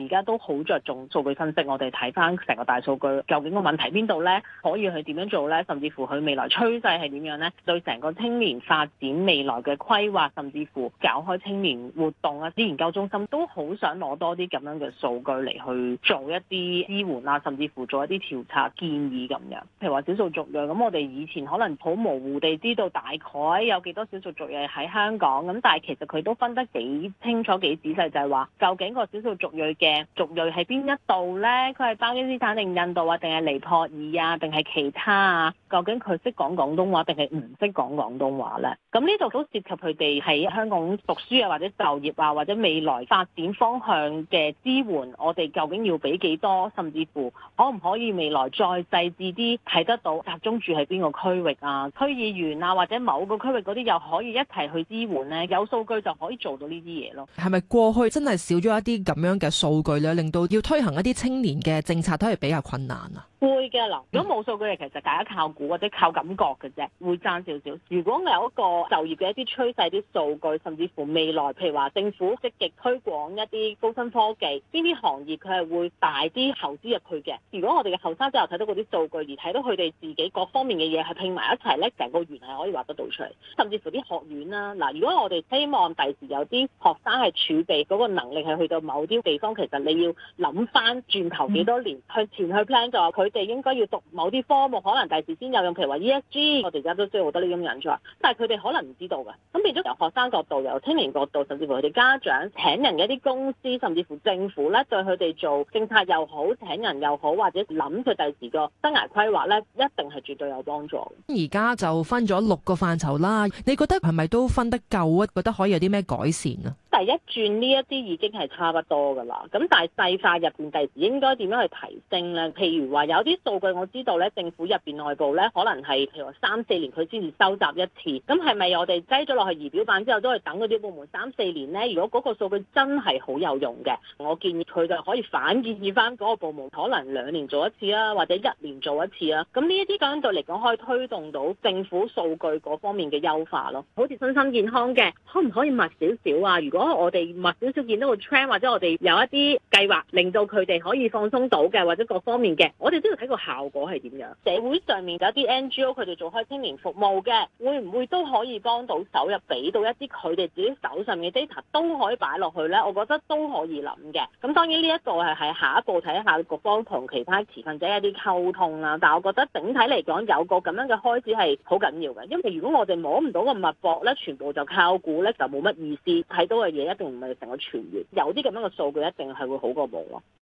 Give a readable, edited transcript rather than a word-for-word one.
而家都好着重數據分析，我哋睇翻成個大數據，究竟個問題邊度咧？可以去點樣做咧？甚至乎佢未來趨勢係點樣咧？對成個青年發展未來嘅規劃，甚至乎搞開青年活動啊，啲研究中心都好想攞多啲咁樣嘅數據嚟去做一啲支援啊，甚至乎做一啲調查建議咁樣。譬如話少數族裔，咁我哋以前可能好模糊地知道大概有幾多少數族裔喺香港，咁但係其實佢都分得幾清楚幾仔細，就係話究竟個少數族裔嘅族裔喺邊一度咧？佢係巴基斯坦定印度啊，定係尼泊爾啊，定係其他啊？究竟佢識講廣東話定係唔識講廣東話咧？咁呢度都涉及佢哋喺香港讀書啊，或者就業啊，或者未來發展方向嘅支援，我哋究竟要俾幾多？甚至乎可唔可以未來再細緻啲睇得到集中住喺邊個區域啊？區議員啊，或者某個區域嗰啲又可以一齊去支援咧？有數據就可以做到呢啲嘢咯。 係咪過去真係少咗一啲咁樣嘅數據咧，令到要推行一啲青年嘅政策都係比較困難啊？ 會嘅嗱，如果冇數據其實大家靠估或者靠感覺嘅啫，會爭少少。如果有一個就業嘅一啲趨勢、啲數據，甚至乎未來譬如話政府積極推廣一啲高新科技，邊啲行業佢係會大啲投資入去嘅。如果我哋嘅後生仔又睇到嗰啲數據，而睇到佢哋自己各方面嘅嘢係拼埋一齊咧，成個圓係可以畫得到出嚟。甚至乎啲學院啦，嗱，如果我哋希望第時有啲學生係儲備嗰個能力係去到某啲地方，其實你要諗翻轉頭幾多年向前去 plan， 就話佢哋應該要讀某啲科目，可能第時先有用。譬如話 ESG， 我哋而家都需要好多呢啲人才，但係佢哋可能唔知道嘅。咁變咗由學生角度、由青年角度，甚至乎佢哋家長請人嘅一啲公司，甚至乎政府咧，對佢哋做政策又好、請人又好，或者諗佢第時個生涯規劃咧，一定係絕對有幫助。 而家就分咗6個範疇啦，你覺得係咪都分得夠啊？覺得可以有啲咩改善啊？ 第一轉呢一啲已經係差不多㗎啦，咁但係細化入邊第時應該點樣去提升咧？譬如話有啲數據我知道咧，政府入邊內部咧可能係譬如話3-4年佢先至收集一次，咁係咪我哋擠咗落去儀表板之後都係等嗰啲部門3-4年咧？如果嗰個數據真係好有用嘅，我建議佢就可以反建議翻嗰個部門可能2年做一次啊，或者1年做一次啊。咁呢一啲相對嚟講可以推動到政府數據嗰方面嘅優化咯。好似身心健康嘅，可唔可以密少少啊？如果我哋密少少見到個 trend， 或者我哋有一啲計劃令到佢哋可以放鬆到嘅，或者各方面嘅，我哋都要睇個效果係點樣。社會上面有一啲 NGO 佢哋做開青年服務嘅，會唔會都可以幫到手入俾到一啲佢哋自己手上嘅 data 都可以擺落去咧？我覺得都可以諗嘅。咁當然呢一個係下一步睇下局方同其他持份者一啲溝通啦。但係我覺得整體嚟講有個咁樣嘅開始係好緊要嘅，因為如果我哋摸唔到個脈搏咧，全部就靠估咧，就冇乜意思。睇到嘅嘢一定唔係成個全員，有啲咁樣嘅數據一定係會好過冇咯。